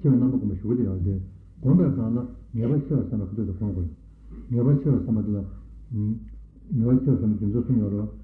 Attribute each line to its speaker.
Speaker 1: 시험 남고 뭐 쉬고요. 이제 공부하다가 내가 시험 삼아 그래도 공부. 내가 시험 삼아도 내가 시험 삼아 좀 좋습니다.